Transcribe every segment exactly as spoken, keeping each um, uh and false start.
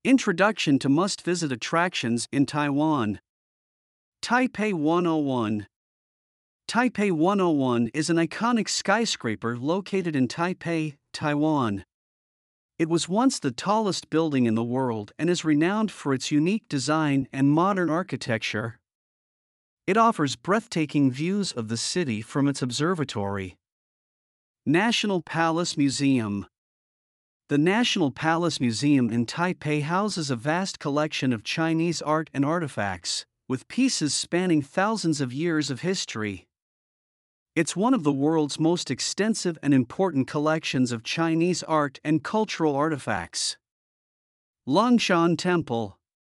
Introduction to Must-Visit Attractions in Taiwan. Taipei one oh one. Taipei one oh one is an iconic skyscraper located in Taipei, Taiwan. It was once the tallest building in the world and is renowned for its unique design and modern architecture. It offers breathtaking views of the city from its observatory. National Palace Museum. The National Palace Museum in Taipei houses a vast collection of Chinese art and artifacts, with pieces spanning thousands of years of history. It's one of the world's most extensive and important collections of Chinese art and cultural artifacts. Longshan Temple.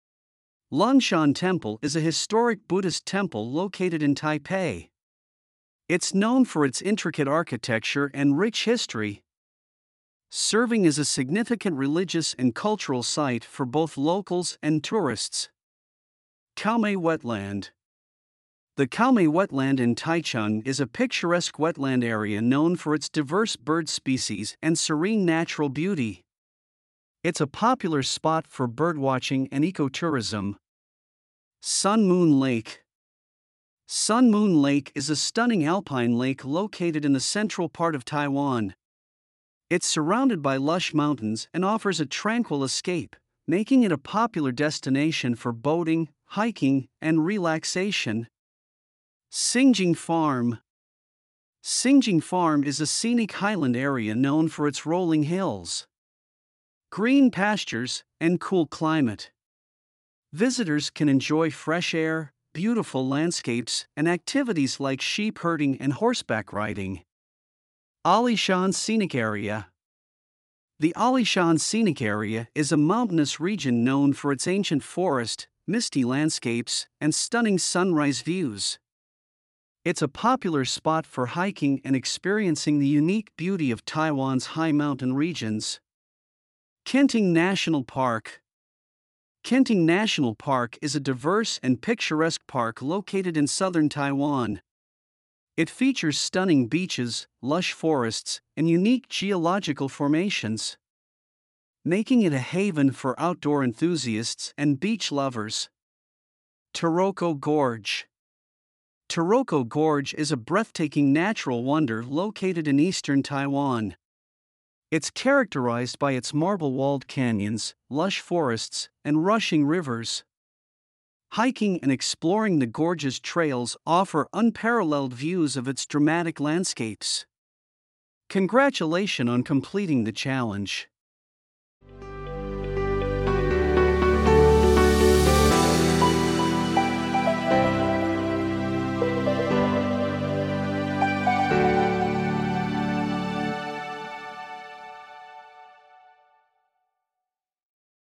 Longshan Temple is a historic Buddhist temple located in Taipei. It's known for its intricate architecture and rich history, serving as a significant religious and cultural site for both locals and tourists. Kaomei Wetland. The Kaomei Wetland in Taichung is a picturesque wetland area known for its diverse bird species and serene natural beauty. It's a popular spot for birdwatching and ecotourism. Sun Moon Lake. Sun Moon Lake is a stunning alpine lake located in the central part of Taiwan. It's surrounded by lush mountains and offers a tranquil escape, making it a popular destination for boating, hiking, and relaxation. Xingjing Farm. Xingjing Farm is a scenic highland area known for its rolling hills, green pastures, and cool climate. Visitors can enjoy fresh air, beautiful landscapes, and activities like sheep herding and horseback riding. Alishan Scenic Area. The Alishan Scenic Area is a mountainous region known for its ancient forest, misty landscapes, and stunning sunrise views. It's a popular spot for hiking and experiencing the unique beauty of Taiwan's high mountain regions. Kenting National Park. Kenting National Park is a diverse and picturesque park located in southern Taiwan. It features stunning beaches, lush forests, and unique geological formations, making it a haven for outdoor enthusiasts and beach lovers. Taroko Gorge. Taroko Gorge is a breathtaking natural wonder located in eastern Taiwan. It's characterized by its marble-walled canyons, lush forests, and rushing rivers. Hiking and exploring the gorge's trails offer unparalleled views of its dramatic landscapes. Congratulations on completing the challenge.